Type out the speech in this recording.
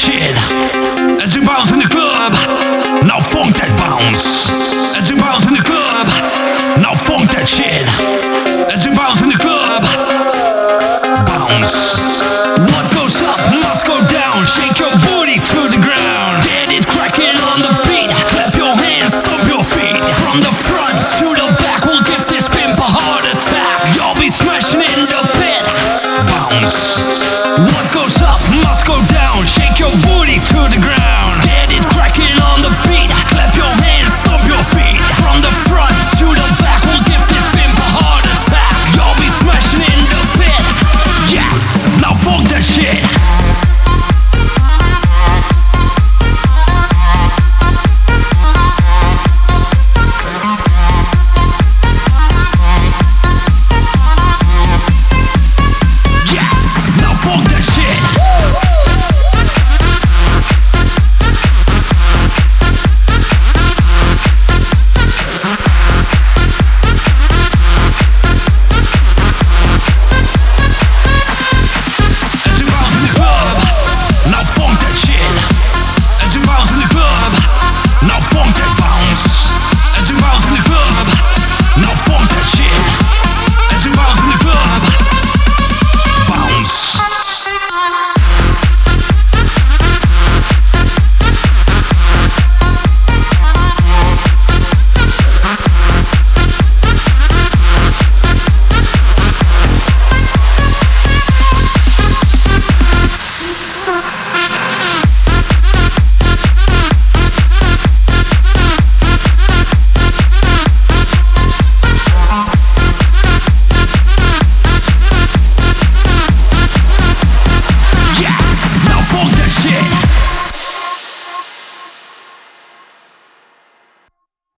shit. As we bounce in the club, now funk that bounce. As we bounce in the club, now funk that shit. As we bounce in the club, bounce. What goes up must go down. Shake your booty to the ground. Get it cracking on the beat. Clap your hands, stomp your feet. From the front to the back, we'll give this pimp a heart attack. You'll be smashing in the pit. Bounce. What goes up